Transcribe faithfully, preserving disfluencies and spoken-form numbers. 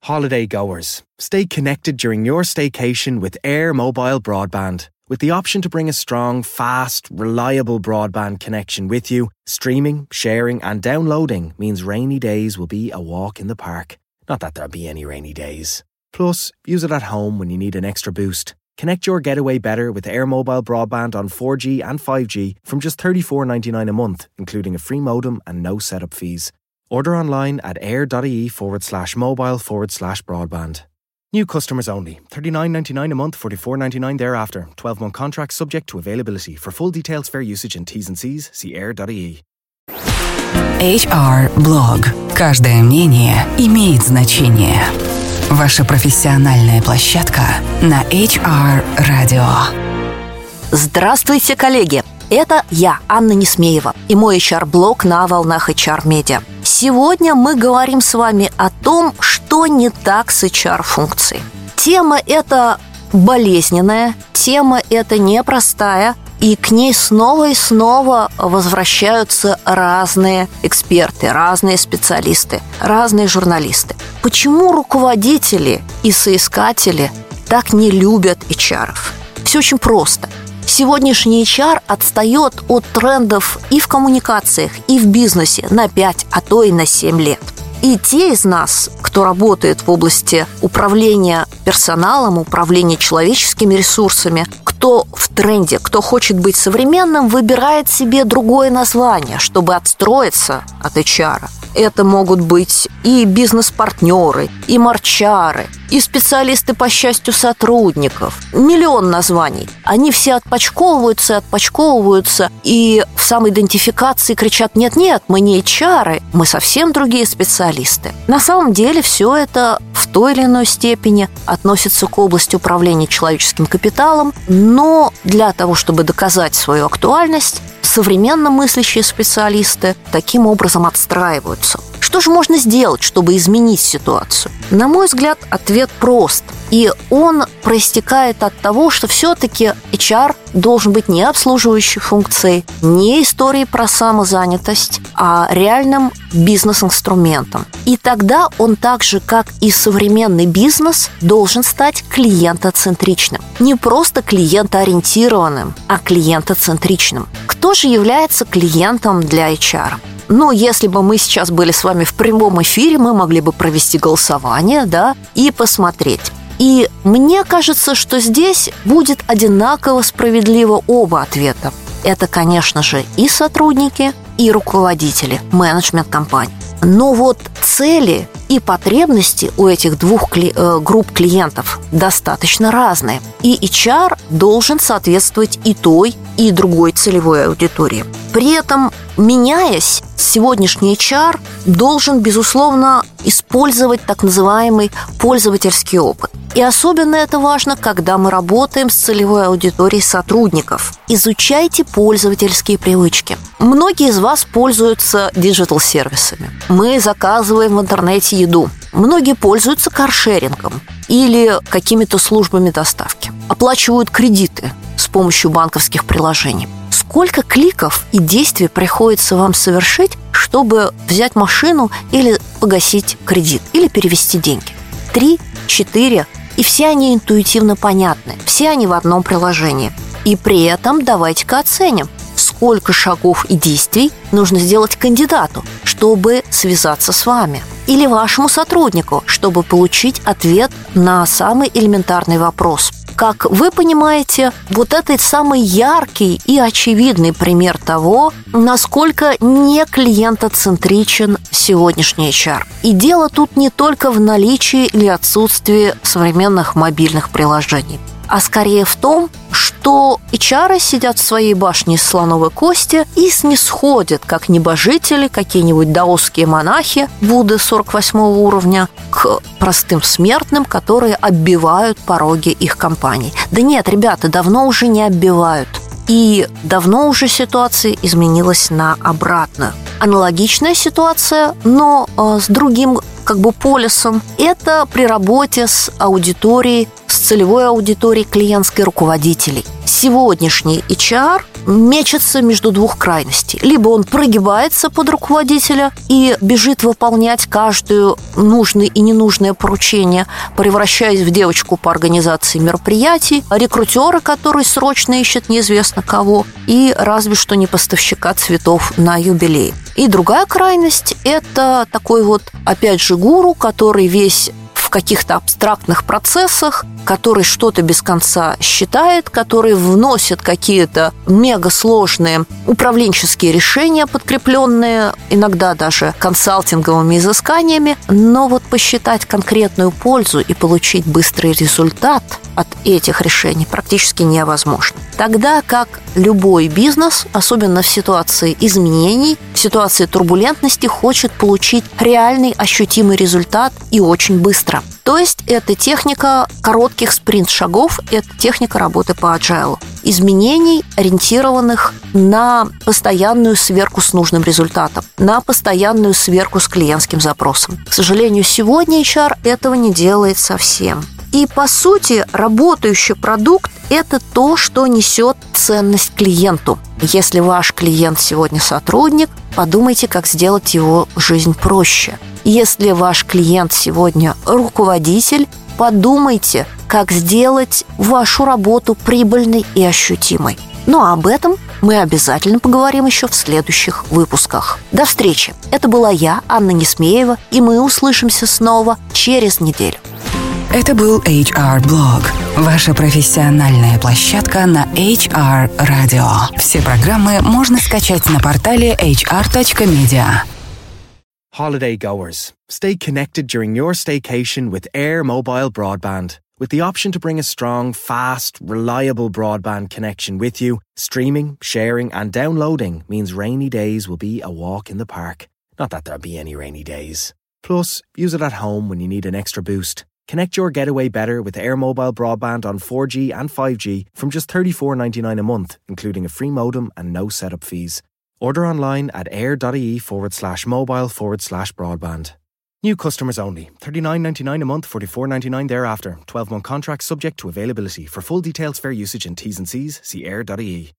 Holiday goers, stay connected during your staycation with Air Mobile Broadband. With the option to bring a strong, fast, reliable broadband connection with you, streaming, sharing and downloading means rainy days will be a walk in the park. Not that there'll be any rainy days. Plus, use it at home when you need an extra boost. Connect your getaway better with Air Mobile Broadband on four G and five G from just thirty-four dollars and ninety-nine cents a month, including a free modem and no setup fees. Order online at air.ie forward slash mobile forward slash broadband. New customers only. thirty-nine dollars and ninety-nine cents a month, forty-four dollars and ninety-nine cents thereafter. twelve-month contract subject to availability. For full details, fair usage and T's and C's, see air.ie. эйч ар-блог. Каждое мнение имеет значение. Ваша профессиональная площадка на эйч ар-радио. Здравствуйте, коллеги! Это я, Анна Несмеева, и мой эйч ар-блог на волнах эйч ар-медиа. Сегодня мы говорим с вами о том, что не так с эйч ар-функцией. Тема эта болезненная, тема эта непростая, и к ней снова и снова возвращаются разные эксперты, разные специалисты, разные журналисты. Почему руководители и соискатели так не любят эйч ар-ов? Все очень просто. Сегодняшний эйч ар отстает от трендов и в коммуникациях, и в бизнесе на пять, а то и на семь лет. И те из нас, кто работает в области управления персоналом, управления человеческими ресурсами, кто в тренде, кто хочет быть современным, выбирает себе другое название, чтобы отстроиться от эйч ар. Это могут быть и бизнес-партнеры, и марчары, и специалисты по счастью сотрудников. Миллион названий. Они все отпочковываются и отпочковываются, и в самоидентификации кричат: нет-нет, мы не эйч ар, мы совсем другие специалисты. На самом деле все это в той или иной степени относится к области управления человеческим капиталом, но для того, чтобы доказать свою актуальность, современно мыслящие специалисты таким образом отстраиваются. Что же можно сделать, чтобы изменить ситуацию? На мой взгляд, ответ прост. И он проистекает от того, что все-таки эйч ар должен быть не обслуживающей функцией, не историей про самозанятость, а реальным бизнес-инструментом. И тогда он так же, как и современный бизнес, должен стать клиентоцентричным. Не просто клиентоориентированным, а клиентоцентричным. Кто же является клиентом для эйч ар? Ну, если бы мы сейчас были с вами в прямом эфире, мы могли бы провести голосование, да, и посмотреть. И мне кажется, что здесь будет одинаково справедливо оба ответа. Это, конечно же, и сотрудники, и руководители, менеджмент компаний. Но вот цели и потребности у этих двух кли- э, групп клиентов достаточно разные. И эйч ар должен соответствовать и той, и другой целевой аудитории. При этом, меняясь, сегодняшний эйч ар должен, безусловно, использовать так называемый пользовательский опыт. И особенно это важно, когда мы работаем с целевой аудиторией сотрудников. Изучайте пользовательские привычки. Многие из вас пользуются диджитал-сервисами. Мы заказываем в интернете еду. Многие пользуются каршерингом или какими-то службами доставки. Оплачивают кредиты с помощью банковских приложений. Сколько кликов и действий приходится вам совершить, чтобы взять машину или погасить кредит, или перевести деньги? Три, четыре, и все они интуитивно понятны, все они в одном приложении. И при этом давайте-ка оценим, сколько шагов и действий нужно сделать кандидату, чтобы связаться с вами, или вашему сотруднику, чтобы получить ответ на самый элементарный вопрос. Как вы понимаете, вот это самый яркий и очевидный пример того, насколько не клиентоцентричен сегодняшний эйч ар. И дело тут не только в наличии или отсутствии современных мобильных приложений, а скорее в том, что эйч ар сидят в своей башне из слоновой кости и снисходят, как небожители, какие-нибудь даосские монахи Будды сорок восьмого уровня, к простым смертным, которые оббивают пороги их компаний. Да нет, ребята, давно уже не оббивают. И давно уже ситуация изменилась на обратную. Аналогичная ситуация, но э, с другим как бы полюсом, это при работе с аудиторией, с целевой аудиторией клиентской руководителей. сегодняшний эйч ар мечется между двух крайностей. Либо он прогибается под руководителя и бежит выполнять каждую нужное и ненужное поручение, превращаясь в девочку по организации мероприятий, рекрутера, который срочно ищет неизвестно кого, и разве что не поставщика цветов на юбилей. И другая крайность – это такой вот, опять же, гуру, который весь в каких-то абстрактных процессах, который что-то без конца считает, который вносит какие-то мегасложные управленческие решения, подкрепленные иногда даже консалтинговыми изысканиями, но вот посчитать конкретную пользу и получить быстрый результат от этих решений практически невозможно. Тогда как любой бизнес, особенно в ситуации изменений, в ситуации турбулентности, хочет получить реальный ощутимый результат и очень быстро. То есть это техника коротких спринт-шагов, это техника работы по agile. Изменений, ориентированных на постоянную сверку с нужным результатом, на постоянную сверку с клиентским запросом. К сожалению, сегодня эйч ар этого не делает совсем. И, по сути, работающий продукт – это то, что несет ценность клиенту. Если ваш клиент сегодня сотрудник, подумайте, как сделать его жизнь проще. Если ваш клиент сегодня руководитель, подумайте, как сделать вашу работу прибыльной и ощутимой. Ну а об этом мы обязательно поговорим еще в следующих выпусках. До встречи! Это была я, Анна Несмеева, и мы услышимся снова через неделю. Это был эйч ар-блог, ваша профессиональная площадка на эйч ар радио. Все программы можно скачать на портале эйч ар точка медиа. Holiday goers, stay connected during your staycation with Air Mobile Broadband. With the option to bring a strong, fast, reliable broadband connection with you, streaming, sharing and downloading means rainy days will be a walk in the park. Not that there'll be any rainy days. Plus, use it at home when you need an extra boost. Connect your getaway better with Air Mobile Broadband on four G and five G from just thirty-four ninety-nine a month, including a free modem and no setup fees. Order online at air.ie forward slash mobile forward slash broadband. New customers only. thirty-nine ninety-nine a month, forty-four ninety-nine thereafter. twelve-month contract subject to availability. For full details, fair usage and T's and C's, see air.ie.